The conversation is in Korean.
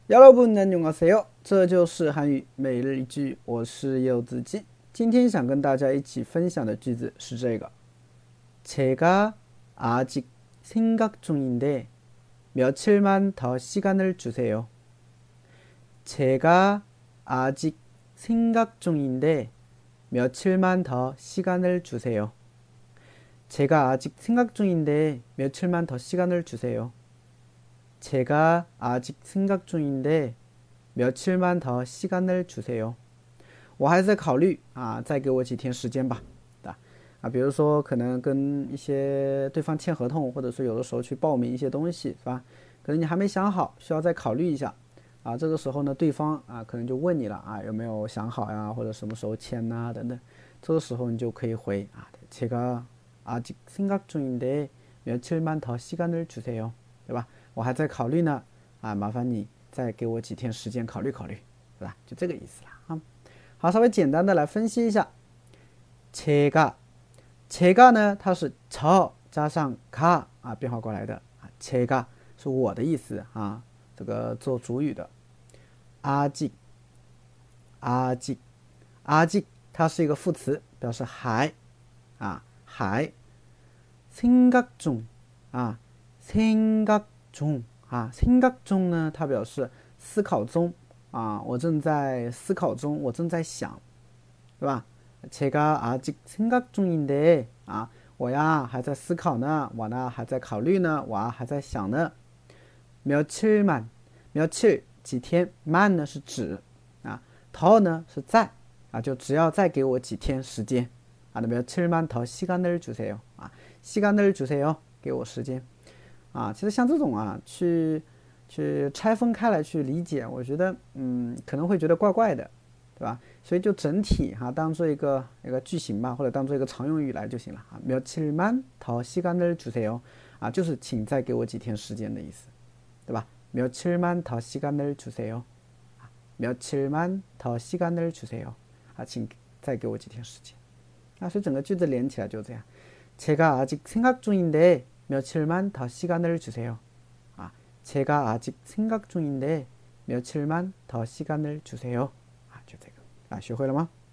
여러분 안녕하세요. 这就是韩语每日一句我是柚子鸡今天想跟大家一起分享的句子是这个 제가 아직 생각 중인데 며칠만 더 시간을 주세요. 제가 아직 생각 중인데 며칠만 더 시간을 주세요. 제가 아직 생각 중인데 며칠만 더 시간을 주세요. 제가 아직 생각 중인데 며칠만 더 시간을 주세요. 我还在考虑啊，再给我几天时间吧。比如说可能跟一些对方签合同，或者说有的时候去报名一些东西，是吧？可能你还没想好，需要再考虑一下。这个时候呢，对方可能就问你了有没有想好呀，或者什么时候签呐、等等。这个时候你就可以回제가 아직 생각 중인데 며칠만 더 시간을 주세요，对吧？我还在考虑呢，麻烦你再给我几天时间考虑考虑，对吧？就这个意思了啊。好，稍微简单的来分析一下，제가呢，它是저加上가变化过来的제가是我的意思这个做主语的。아직 아직 아직它是一个副词，表示还。생각 중 생각 중 생각 중呢，它表示思考中我正在思考中，我正在想，对吧？제가 아직 생각 중인데我呀还在思考呢，我呢还在考虑呢，我还在想呢。며칠만 며칠几天，만呢是指더呢是在就只要再给我几天时间며칠만 더 시간을 주세요 시간을 주세요，给我时间其实像这种去拆分开来去理解，我觉得可能会觉得怪怪的，对吧？所以就整体当做一个句型吧，或者当做一个常用语来就行了며칠만 더 시간을 주세요就是请再给我几天时间的意思，对吧？며칠만 더 시간을 주세요 며칠만 더 시간을 주세요请再给我几天时间所以整个句子连起来就这样。제가 아직 생각 중인데 며칠만 더 시간을 주세요. 제가 아직 생각 중인데 며칠만 더 시간을 주세요. 就这个学会了吗？